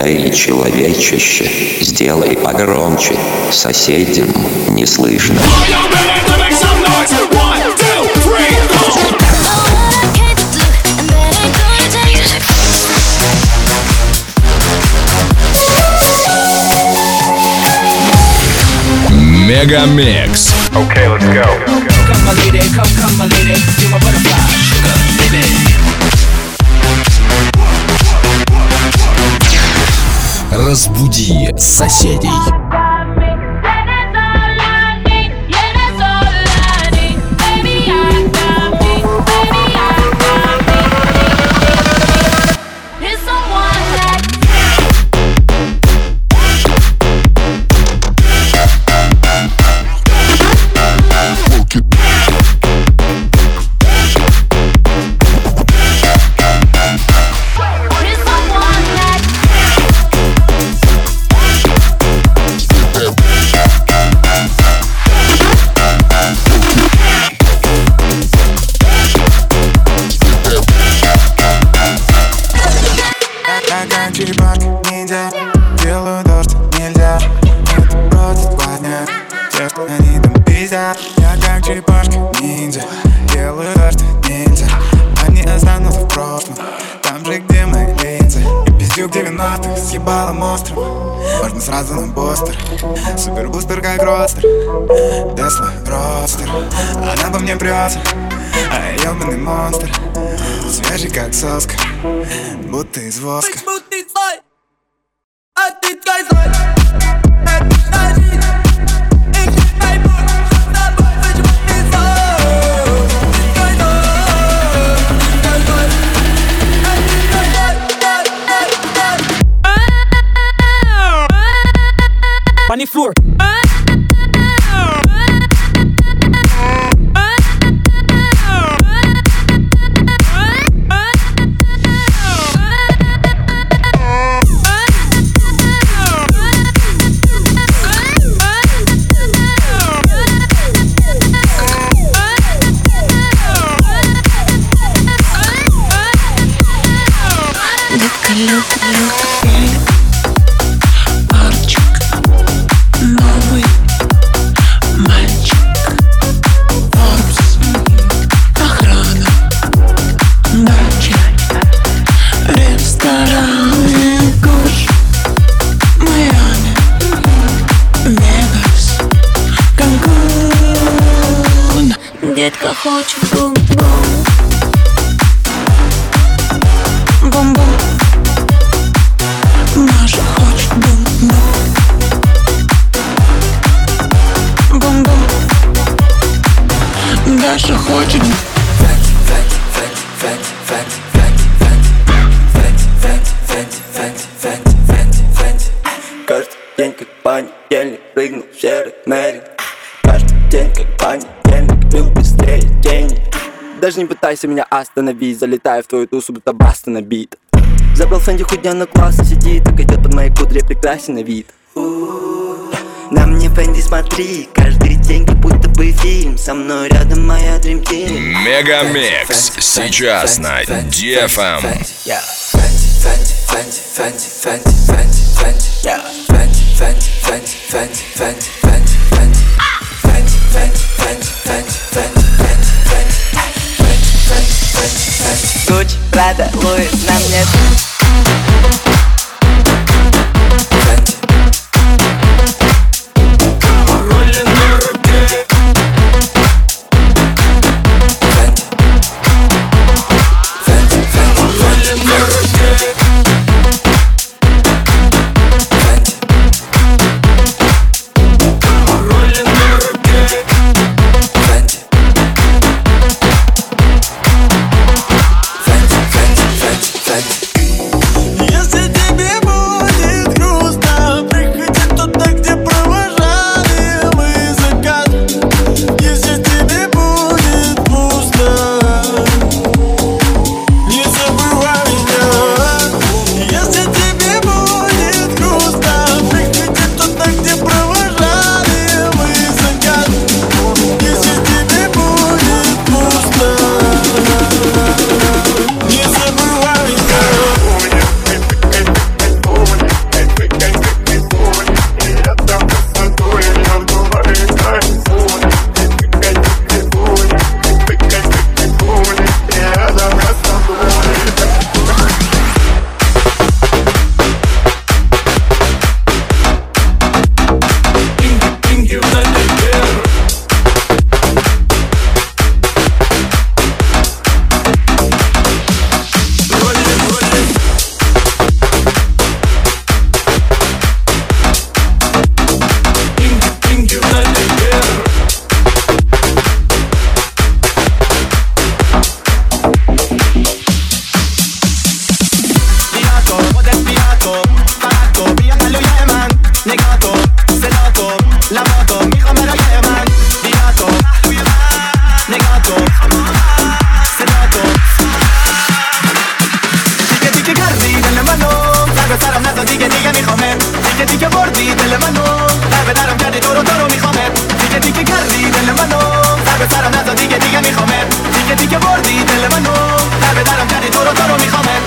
Эй, человечище, сделай погромче, соседям не слышно. Мегамикс. Okay, let's go. Come my lady, come my lady, you're my butterfly, sugar, baby. Разбуди соседей. Ниндзя, делаю то, что нельзя. Это просто 2 дня. Те, что они там пиздят. Я как черепашка ниндзя, делаю то, что нельзя. Они останутся в прошлом, там же, где мои линзы. И пиздюк 90-х с ебалом острым. Можно сразу на постер. Супербустер как ростер, Тесла ростер. Она по мне прется, а я ёбаный монстр. Свежий как соска, будто из воска. Funny floor. Детка хочет бум-бум, бум-бум. Маша хочет бум-бум, бум-бум. Даша хочет. Каждый день как понедельник, прыгнул в серый мерин. Каждый день как понедельник, был быстрее тени. Даже не пытайся меня остановить, залетаю в твою тусу, будто баста набит. Забрал Фэнди, худя на класс, сидит, так идет под моей кудре, прекрасен на вид. На мне Фэнди смотри, каждый день как будто бы фильм. Со мной рядом моя Dream Team. Мегамикс сейчас на DFM. Гуччи, Прада, Луис, на мне. Если تیکه تیکه بردی دل منو قلب درم کردی تو رو میخوامت تیکه تیکه کردی دل منو سر به سرم نزا دیگه میخوامت تیکه تیکه بردی دل منو قلب درم کردی تو رو میخوامت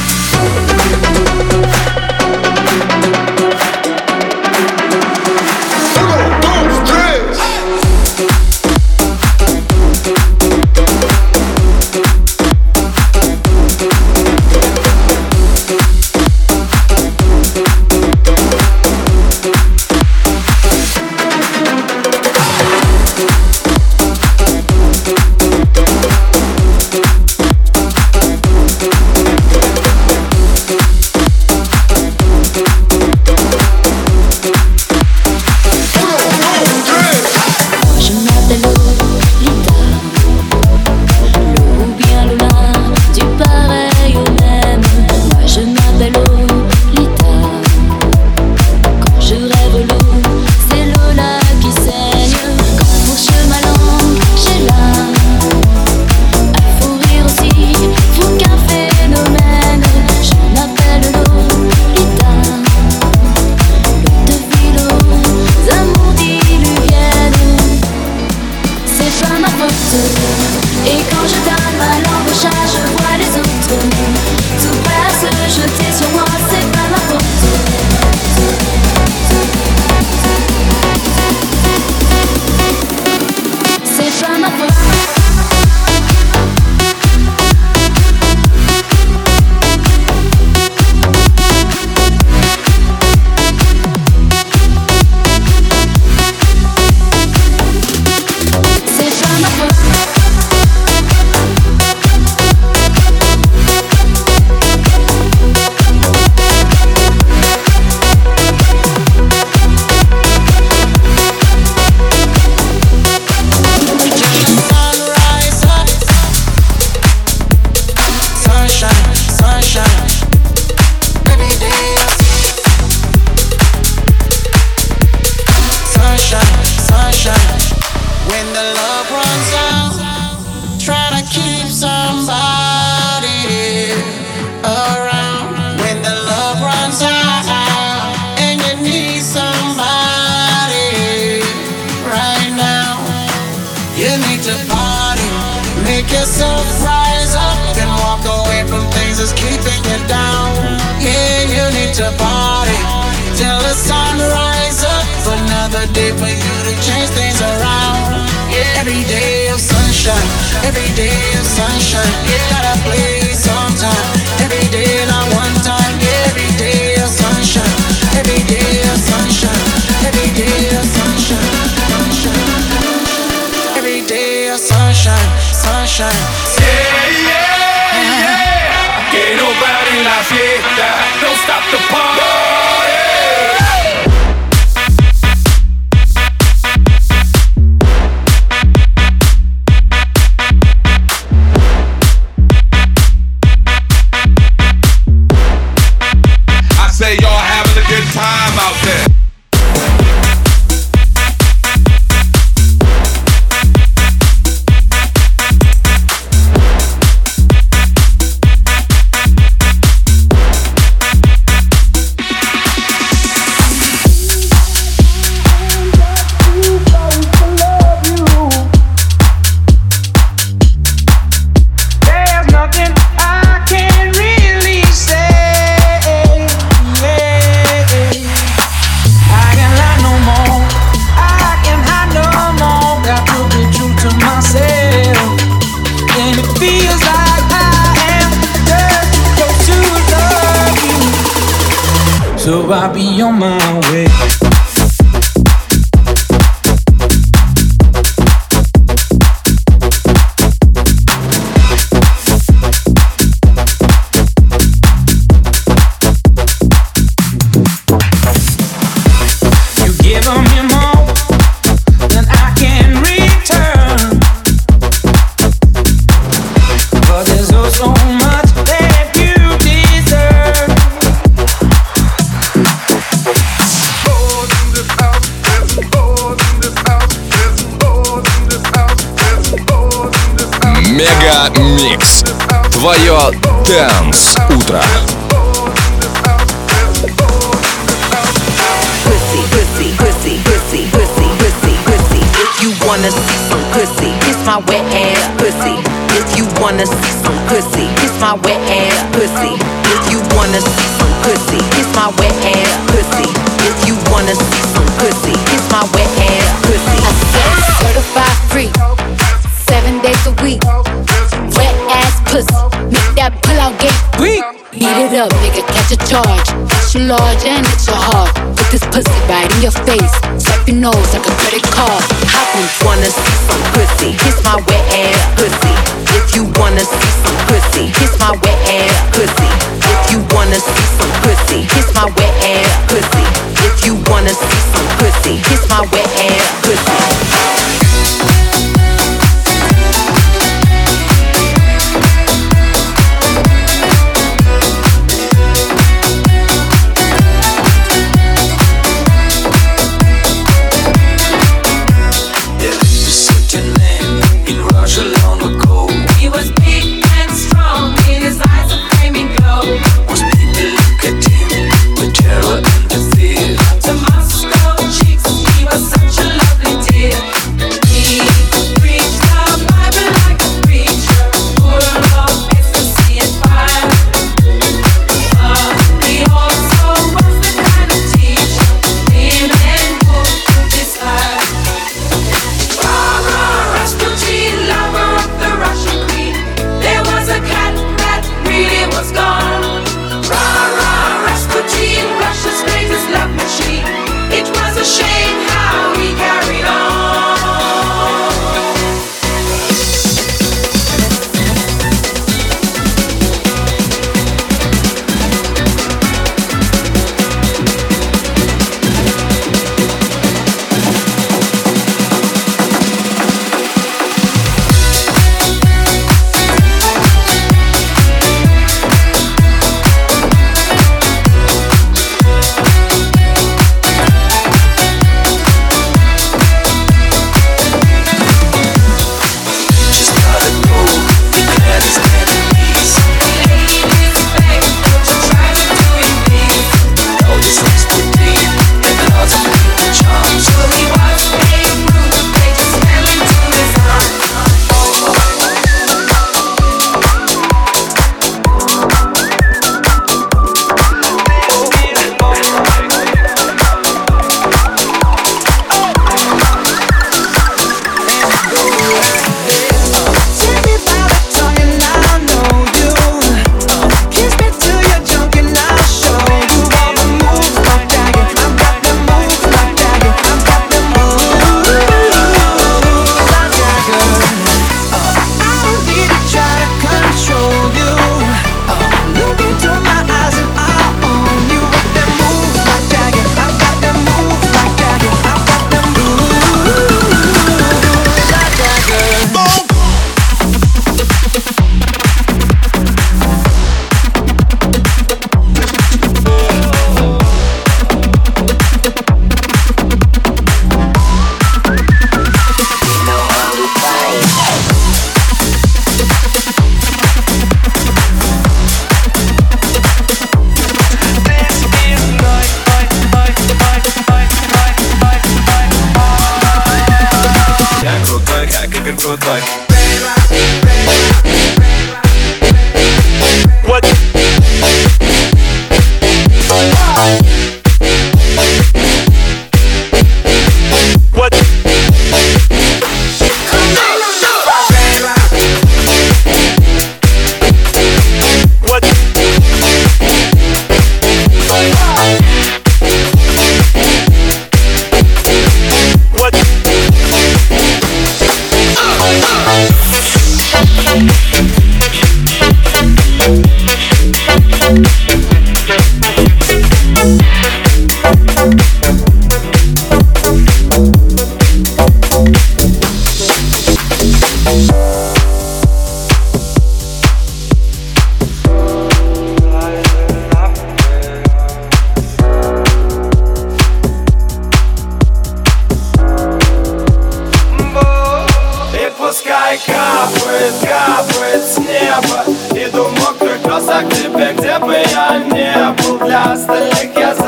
So I'll be on my way. You give me more than I can return, but there's so much that you deserve. Мега Микс. Твое Dance утро. wanna see some pussy, kiss my wet ass pussy. If you wanna see some pussy, kiss my wet ass pussy. If you wanna see some pussy, kiss my wet ass pussy. If you wanna see some pussy, kiss my wet ass pussy. I said certified free, 7 days a week. Wet ass pussy, make that pull out get weak. Beat it up, nigga, catch a charge. Extra large and extra hard. Put this pussy right in your face. Swipe your nose like a credit card. Hop on, wanna see some pussy, kiss my wet ass pussy. If you wanna see some pussy, kiss my wet ass pussy. If you wanna see some pussy, kiss my wet ass pussy. If you wanna see some pussy, kiss my wet ass pussy.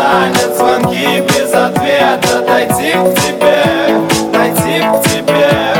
Звонки без ответа, дойти к тебе,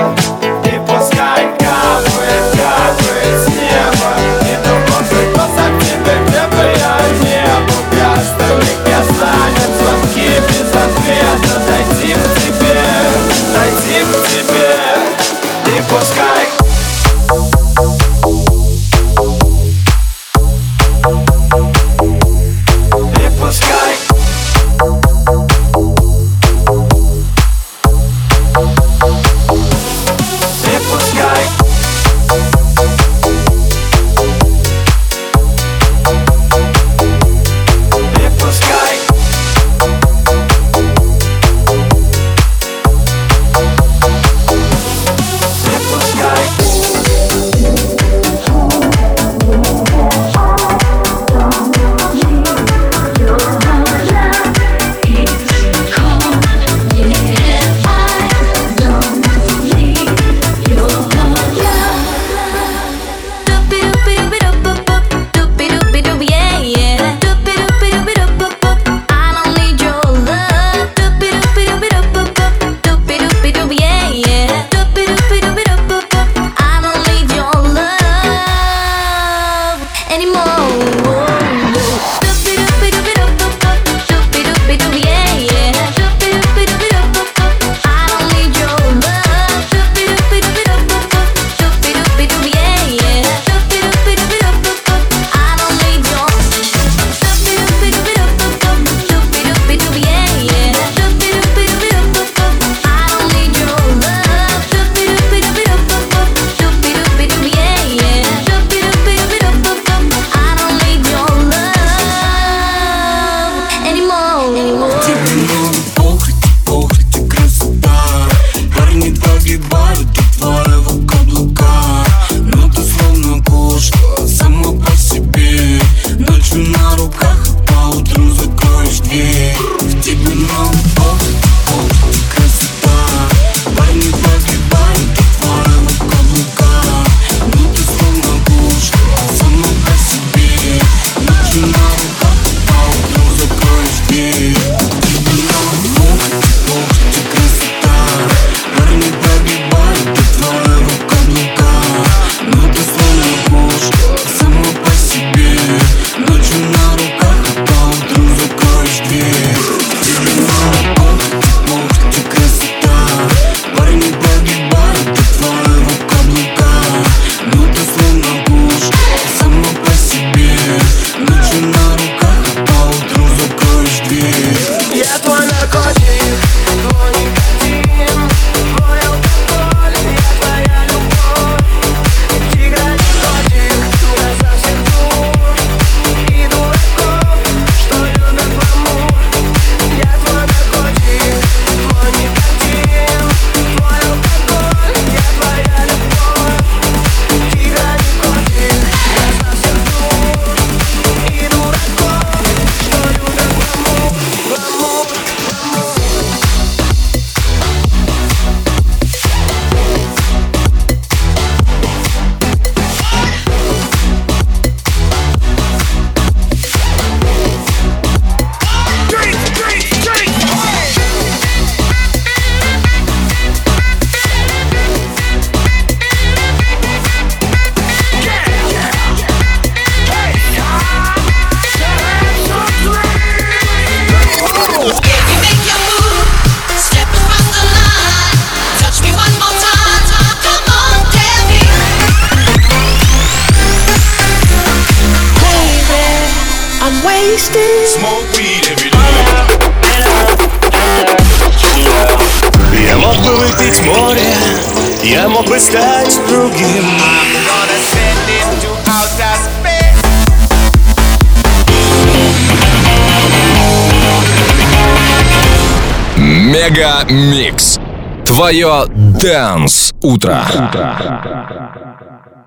Тебе много похоть и красота. Парни погибают от твоего каблука. Но ты словно кошка, сама по себе. Ночью на руках, а поутру закроешь дверь. В тебе много похоть и красота. Парни погибают от твоего каблука. Но ты словно кошка, сама по себе. Ночью на руках, а поутру закроешь дверь. В тебе много похоть и красота. Парни погибают от твоего каблука. Но ты словно кошка, сама по себе. Ночью на руках, а поутру закроешь дверь. Тебе много похоть и красота. Парни погибают от твоего каблука. Но ты словно кошка, сама по себе. Ночью на руках, а поутру закроешь дверь. Я твой наркотик, твой никотин, твой алкоголь, я твоя любовь. Тигра не котик, я совсем дур. И дураков, что любят гламур. Я твой наркотик, твой никотин, твой алкоголь, я твоя любовь. Тигра не котик, я совсем дур. И дураков, что любят гламур. Smoke weed every day. Я мог бы выпить море, я мог бы стать другим. Мега Микс. Твое Dance утро.